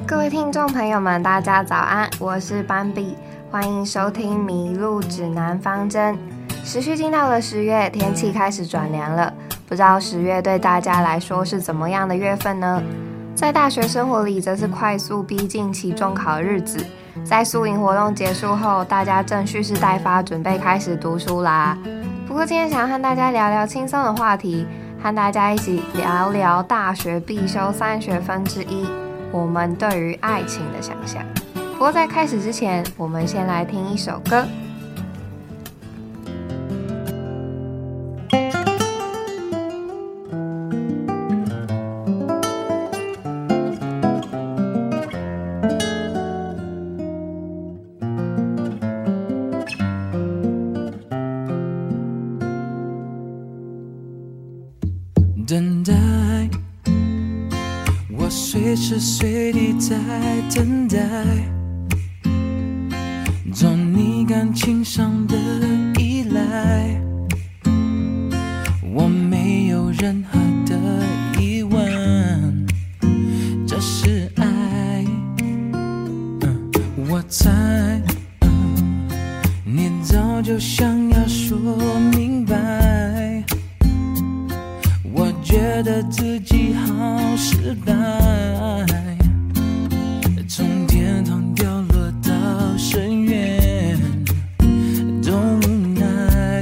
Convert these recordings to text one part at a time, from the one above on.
各位聽眾朋友們，大家早安，我是斑比，歡迎收聽迷路指南方針。時序進到了10月，天氣開始轉涼了，不知道10月對大家來說是怎麼樣的月份呢？在大學生活裡，則是快速逼近期中考的日子。在宿營活動結束後，大家正蓄勢待發，準備開始讀書啦。不過今天想要和大家聊聊輕鬆的話題，和大家一起聊聊大學必修3學分之一，我們對於愛情的想象。不過在開始之前，我們先來聽一首歌。 等待，我隨時隨地在等待，做你感情上的依賴，我沒有任何的疑問，這是愛。我猜，你早就想要說明白，我覺得自己好失敗，從天堂掉落到深淵，都無奈。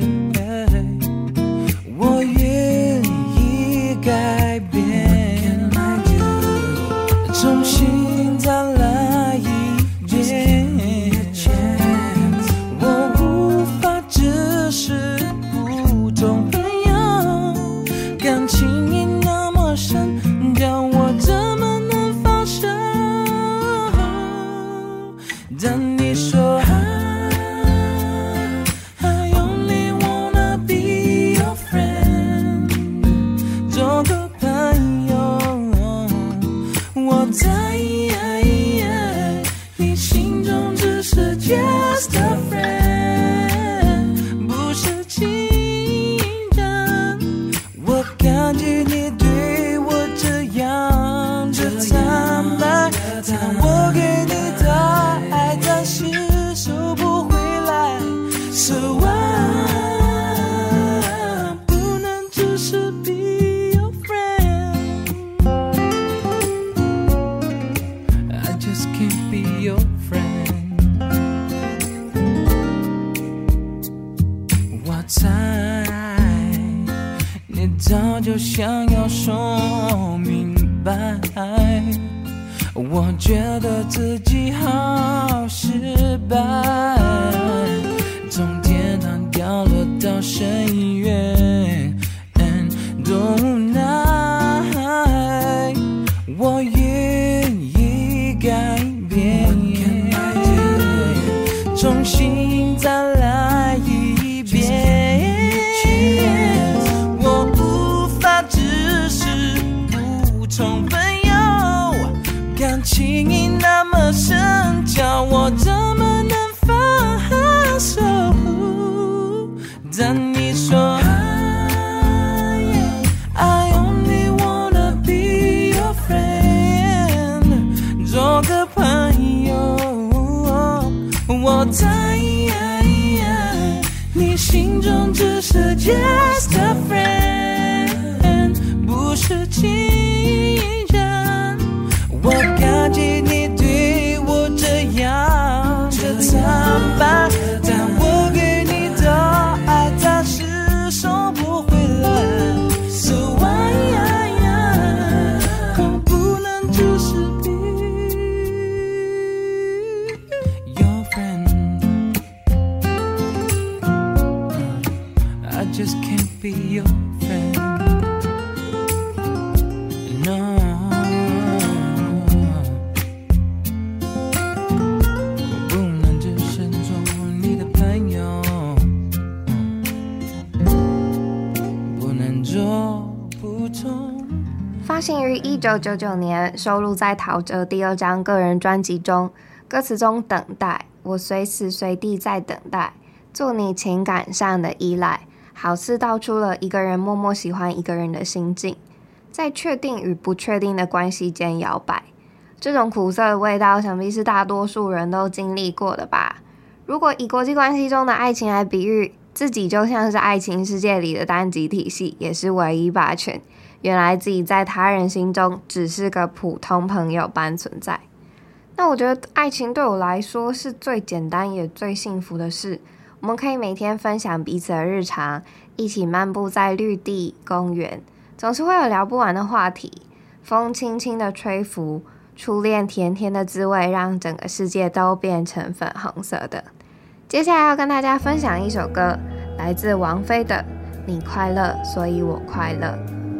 我願意改變，重新再來一遍，我無法只是普通朋友，感情已那麼深，叫我怎麼能放手？當你說 I only wanna be your friend， 做個朋友，我在你心中只是 just a friend， 不是情人。我感激你對我這樣的坦白，但我給你的愛暫時收不回來。So I 不能只是 be your friend， I just can't be your friend。 我猜你早就想要說明白，我覺得自己好失敗，從天堂掉落到深淵，多無奈。我願意改變，重新再來一遍，我無法只是普通朋友，感情已那麼深，叫我怎麼能放手？當你說 I only wanna be your friend， 做個朋友，我在你心中只是 just a friend， 不是情人。我感激你對我這樣的坦白，但我給你的愛暫時收不回來。So I 不能只是 be your friend， I just can't be your friend。No， 我不能只是做你的朋友，不能做普通。 發行於1999年，收錄在陶喆第2張個人專輯中。歌詞中等待，我隨時隨地在等待，做你情感上的依賴，好似道出了一個人默默喜歡一個人的心境，在確定與不確定的關係間搖擺。 這種苦澀的味道，想必是大多數人都經歷過的吧。如果以國際關係中的愛情來比喻，自己就像是愛情世界裡的單極體系，也是唯一霸權。原來自己在他人心中只是個普通朋友般存在。那我覺得愛情對我來說是最簡單也最幸福的事。我們可以每天分享彼此的日常，一起漫步在綠地公園，總是會有聊不完的話題。風輕輕的吹拂，初戀甜甜的滋味讓整個世界都變成粉紅色的。接下來要跟大家分享一首歌，來自王菲的《你快樂，所以我快樂》。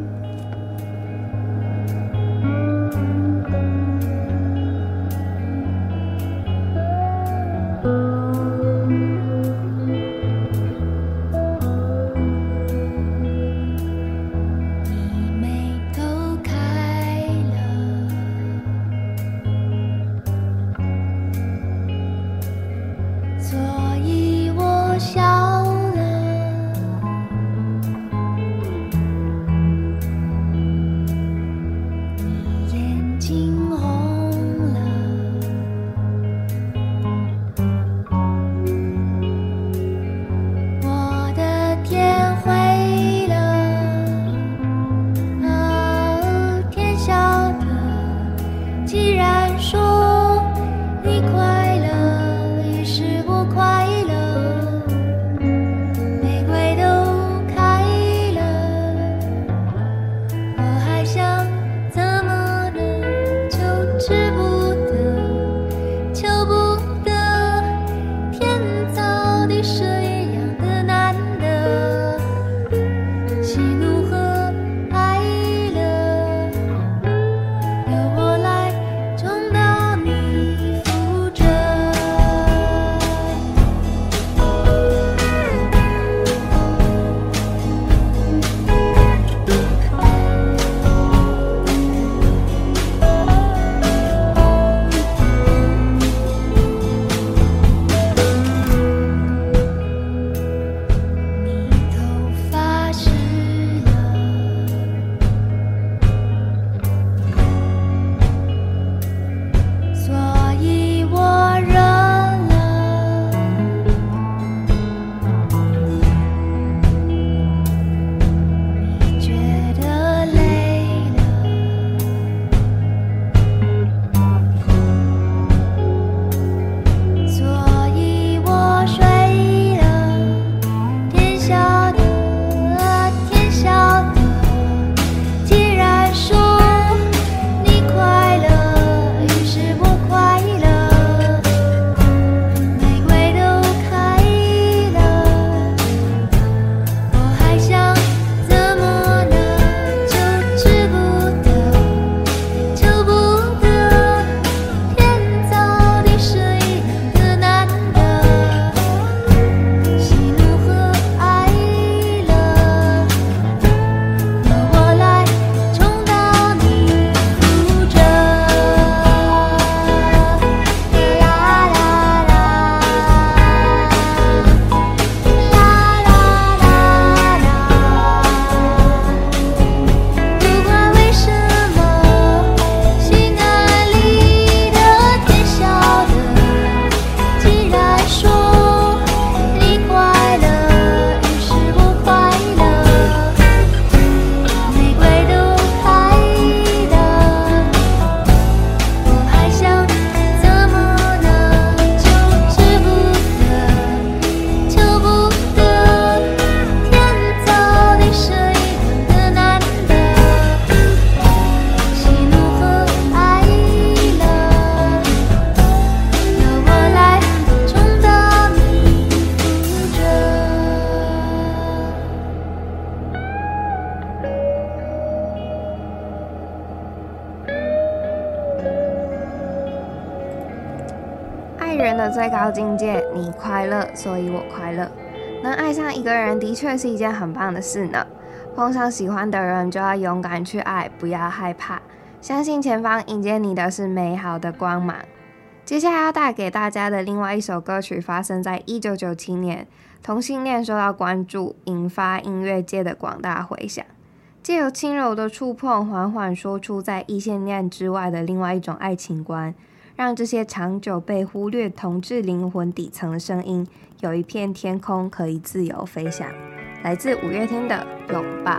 人的最高境界，你快樂，所以我快樂。能愛上一個人的確是一件很棒的事呢。碰上喜歡的人，就要勇敢去愛，不要害怕，相信前方迎接你的是美好的光芒。接下來要帶給大家的另外一首歌曲，發生在1997年，同性戀受到關注，引發音樂界的廣大回響。 藉由輕柔的觸碰，緩緩說出在異性戀之外的另外一種愛情觀，讓這些長久被忽略同志靈魂底層的聲音，有一片天空可以自由飛翔。來自五月天的《擁抱》。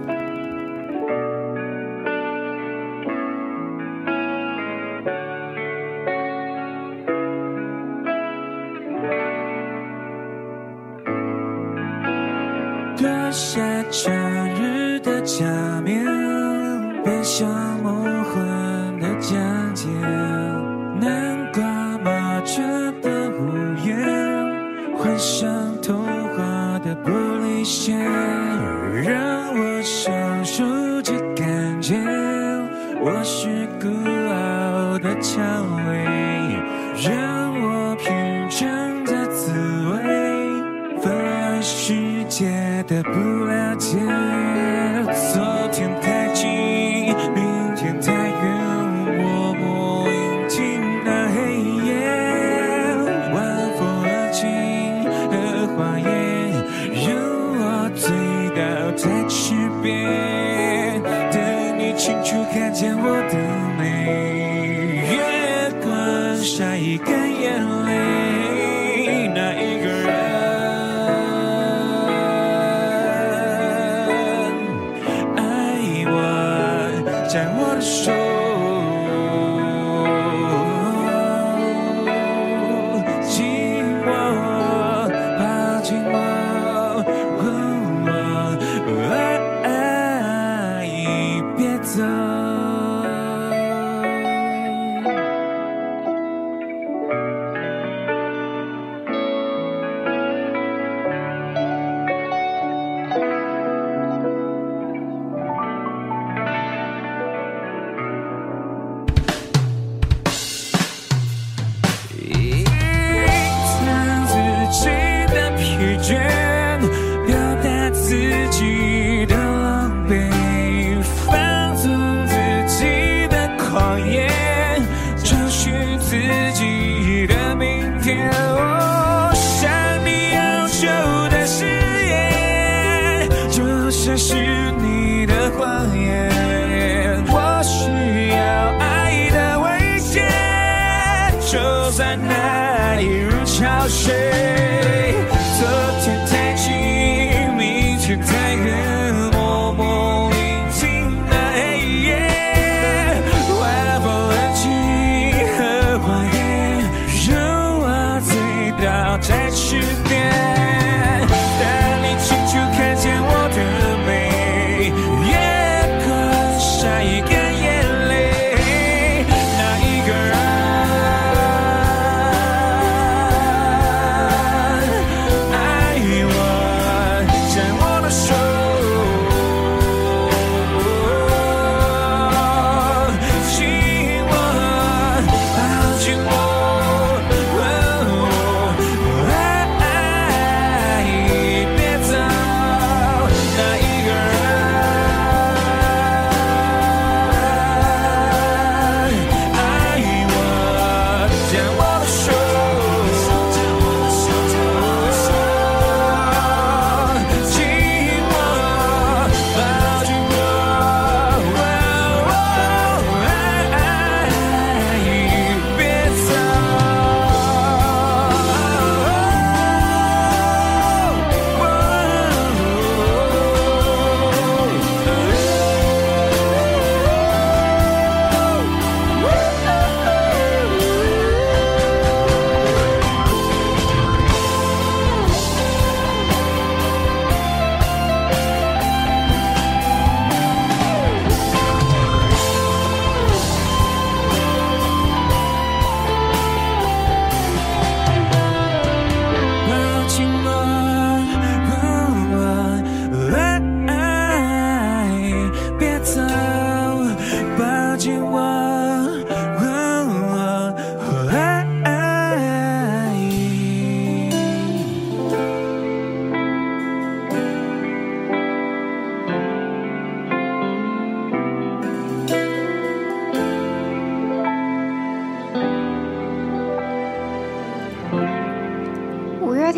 脱下假日的假面，背上梦幻的疆界，南瓜麻雀的屋檐，幻想童話的玻璃鞋，讓我享受這感覺，我是孤傲的薔薇，讓我品嘗這滋味，分來世界的不了解，昨天太近，明天太遠，默默迎進那黑夜，晚風而起荷花葉，讓我醉倒在池邊，等你清楚看見我的美，月光曬乾眼淚，那一個人牽我的手，緊握，抱緊我，別走。這是你的謊言，我需要愛的慰藉，就算那一如潮水，昨天太近，明天太遠，默默迎進那黑夜，晚風安靜，荷花葉，讓我醉倒在池邊，帶你清楚看見我的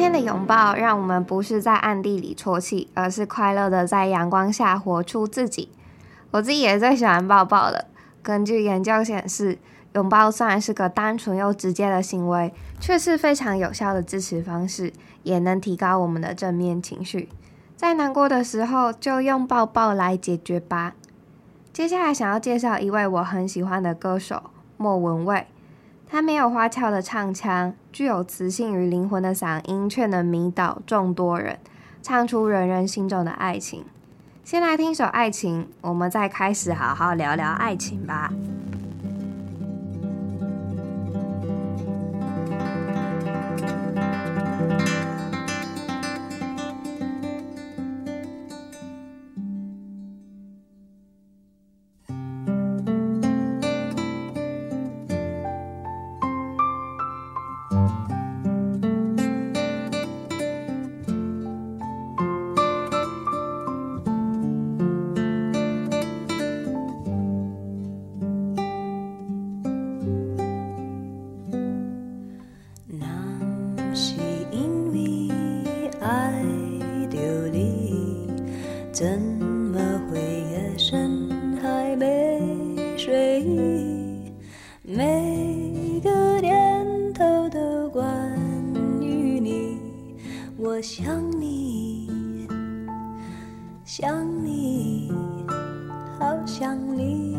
天的擁抱讓我們不是在暗地裡啜泣，而是快樂的在陽光下活出自己。我自己也最喜歡抱抱了。根據研究顯示，擁抱雖然是個單純又直接的行為，卻是非常有效的支持方式，也能提高我們的正面情緒。在難過的時候，就用抱抱來解決吧。接下來想要介紹一位我很喜歡的歌手莫文蔚。他沒有花俏的唱腔，具有磁性與靈魂的嗓音，卻能迷倒眾多人，唱出人人心中的愛情。先來聽首《愛情》，我們再開始好好聊聊愛情吧。 怎麼會夜深還沒睡意？每個念頭都關於你，我想你，想你，好想你。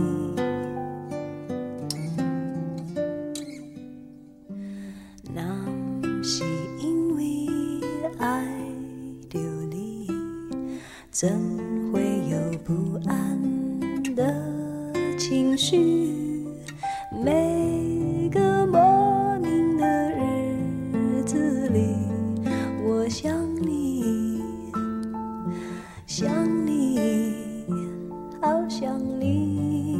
那是因為愛着你，怎會有不安的情緒？每個莫名的日子裡，我想你，想你，好想你。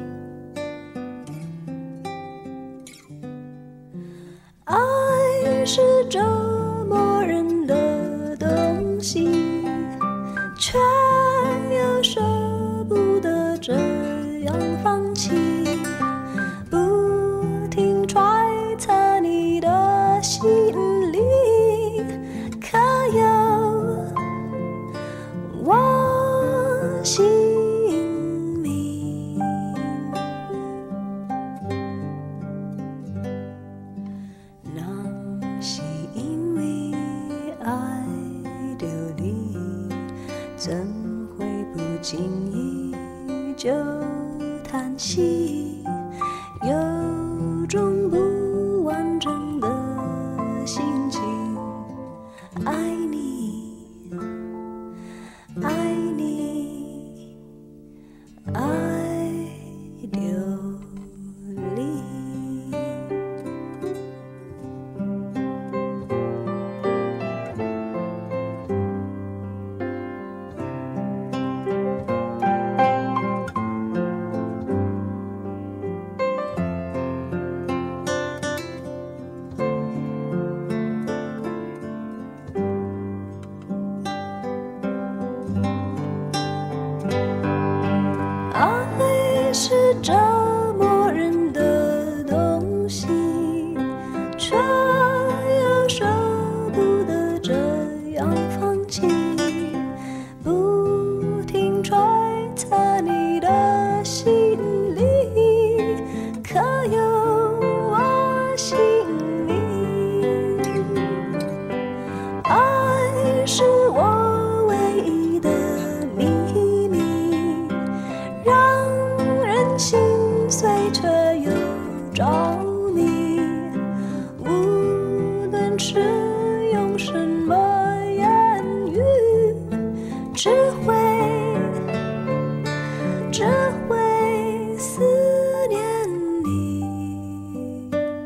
愛是折磨人的東西，卻又捨不得這樣放棄，不停揣測你的心裡，可有我心裡？那是因為愛着你，怎會不經意就嘆息，有種不完整的心情。愛你，愛你，愛流離。愛是折磨人的東西，卻又捨不得這樣放棄，不停揣測你的心裡，可有我心裡？愛是我唯一的秘密，讓人心碎卻又着迷，無論是用什麼言語，只會思念你。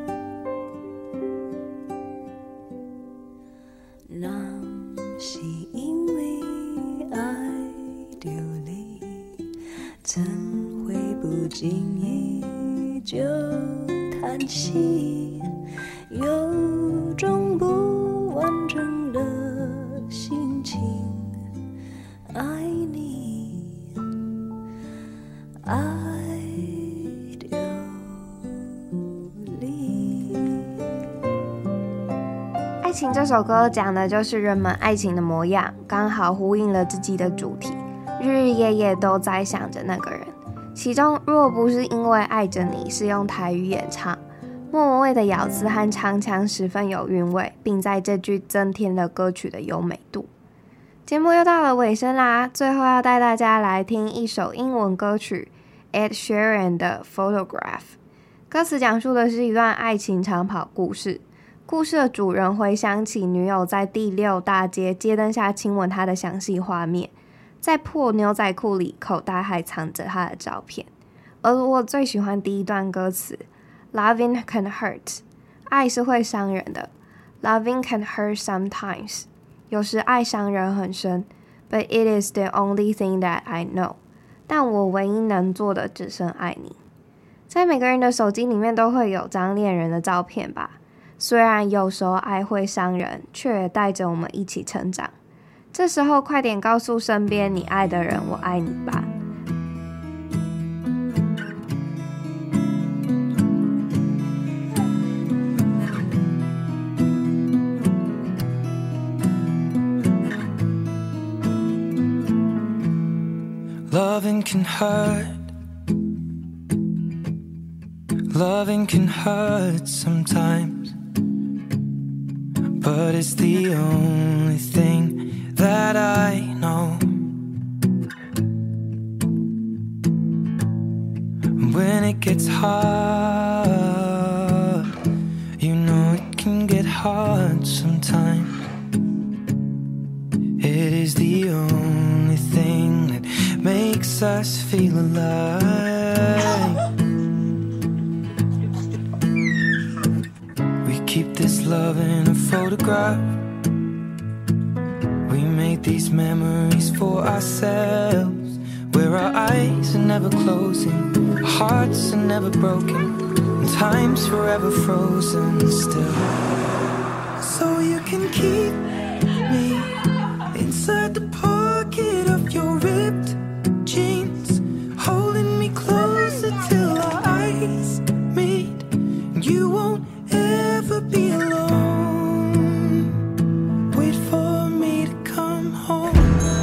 那是因為愛着你，怎會不經意就嘆息，有種不完整的心情。愛你，愛流離。 愛情情這首歌講的就是人們愛情的模樣，剛好呼應了自己的主題，日日夜夜都在想着那個人。其中若不是因為愛着你是用台語演唱，莫文蔚的咬字和唱腔十分有韻味，並在這句增添了歌曲的優美度。節目又到了尾聲啦，最後要帶大家來聽一首英文歌曲 Ed Sheeran 的 Photograph。 歌詞講述的是一段愛情長跑故事，故事的主人回想起女友在第6大街街燈下親吻他的詳細畫面，在破牛仔褲裡口袋還藏着他的照片。而我最喜歡第一段歌詞 Loving can hurt， 愛是會傷人的， Loving can hurt sometimes， 有時愛傷人很深， But it is the only thing that I know， 但我唯一能做的只剩愛你。在每個人的手機裡面都會有張戀人的照片吧，雖然有時候愛會傷人，卻也帶着我們一起成長。這時候快點告訴身邊你愛的人我愛你吧。 Loving can hurt, loving can hurt sometimes, but it's the only thing that I know. When it gets hard, you know it can get hard sometimes. It is the only thing that makes us feel alive. We keep this love in a photograph. We make these memories for ourselves, where our eyes are never closing, our hearts are never broken, and time's forever frozen still. So you can keep me inside the pocket of your ripped jeans, holding me closer till our eyes meet. You won't ever be alone. Wait for me to come home.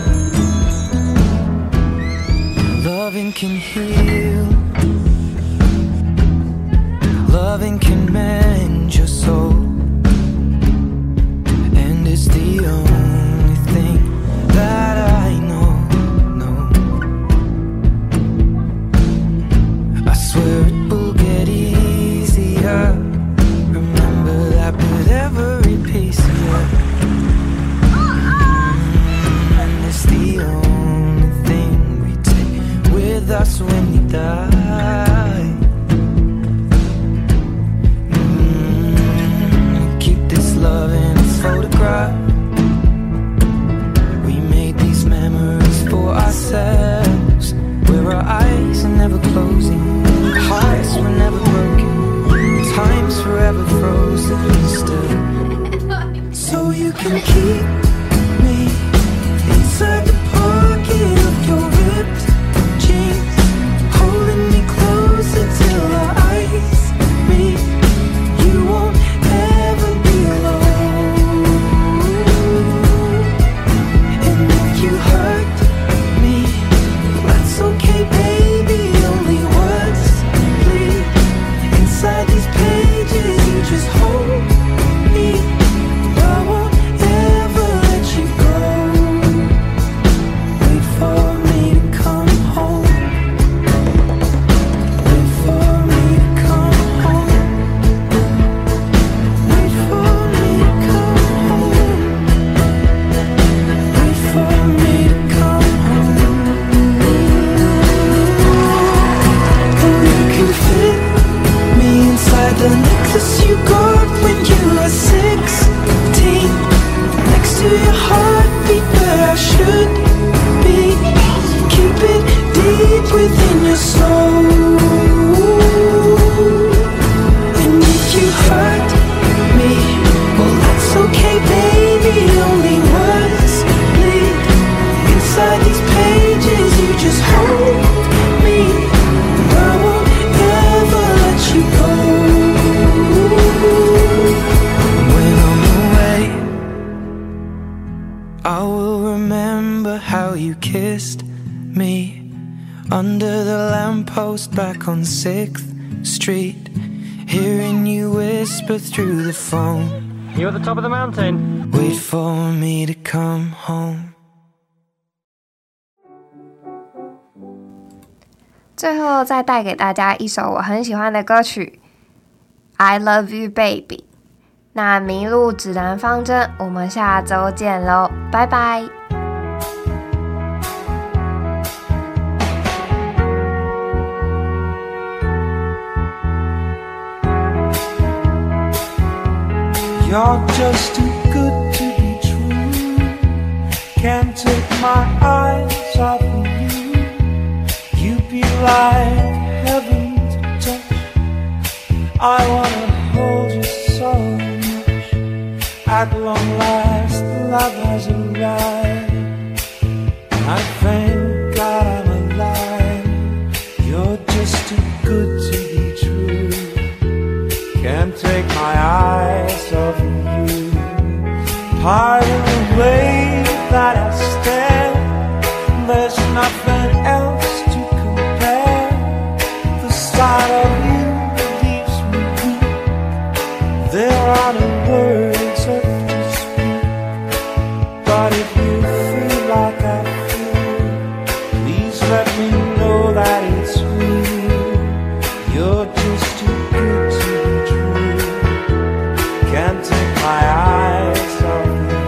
Loving can heal, loving can mend your soul, and it's the only thing that I know. I swear it will get easier. Remember that with every piece of you. And it's the only thing we take with us when we die. Keep this love in a photograph. We made these memories for ourselves, where our eyes are never closing, hearts were never broken, time's forever frozen still. So you can keep me inside the pocket of your ripped jeans, holding me closer till our eyes meet. You won't ever be alone. And if you hurt me, that's okay, baby. Only words bleed inside these pages. You just hold me. I won't ever remember how you kissed me under the lamppost back on 6th Street, hearing you whisper through the phone. You at the top of the mountain? Wait for me to come home. 最後再帶給大家一首我很喜歡的歌曲 I Love You Baby。 那迷路指南方針我們下周見咯，拜拜。 You're just too good to be true. Can't take my eyes off of you. You'd be like heaven to touch. I wanna hold you so much. At long last, love has arrived. I thank God I'm alive. You're just too good to be true. Can't take my eyes off of you. Pardon the way that I stare. There's nothing else to compare. The sight of you leaves me weak. There are no words left to speak. But if you feel like I feel, please let me know that it's real. You're just too good to be true. Can't take my eyes off of you.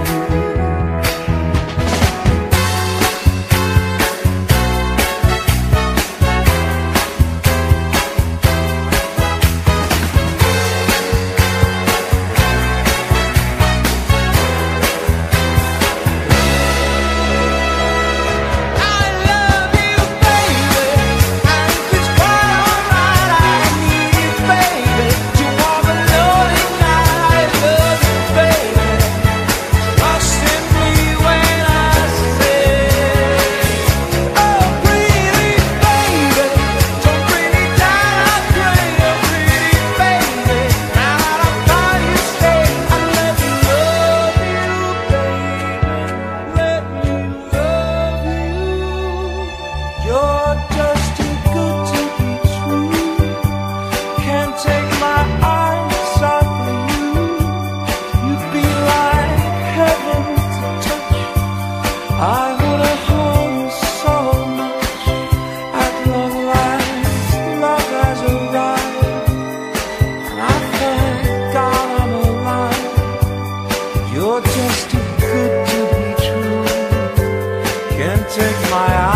I love you, baby, and it's quite alright. I need you, baby. You want me knowing I love you, baby. Trust in me when I say, oh, pretty baby, don't bring me down. I pray, oh, pretty baby. Now that I'm by your side, I let me love you, baby. Let me love you. You're just too good to be true. Can't take my eyes off of you. You'd be like heaven to touch. I wanna hold you so much. At long last, love has arrived. And I thank God I'm alive. You're just too good to be true. Can't take my eyes